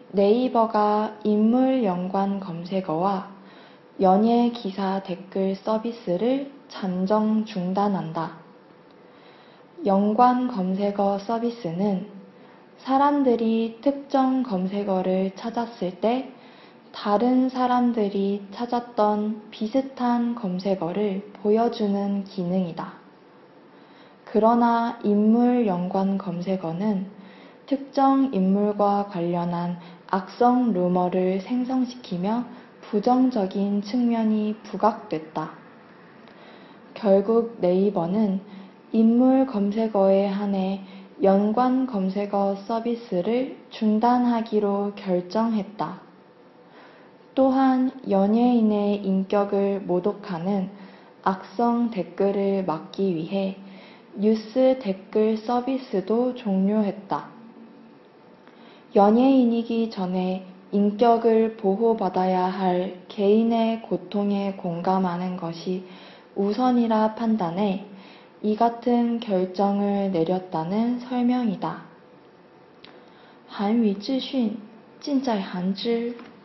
네이버가 인물 연관 검색어와 연예 기사 댓글 서비스를 잠정 중단한다. 연관 검색어 서비스는 사람들이 특정 검색어를 찾았을 때 다른 사람들이 찾았던 비슷한 검색어를 보여주는 기능이다. 그러나 인물 연관 검색어는 특정 인물과 관련한 악성 루머를 생성시키며 부정적인 측면이 부각됐다. 결국 네이버는 인물 검색어에 한해 연관 검색어 서비스를 중단하기로 결정했다. 또한 연예인의 인격을 모독하는 악성 댓글을 막기 위해 뉴스 댓글 서비스도 종료했다. 연예인이기 전에 인격을 보호받아야 할 개인의 고통에 공감하는 것이 우선이라 판단해 이 같은 결정을 내렸다는 설명이다. 韩语资讯尽在韩知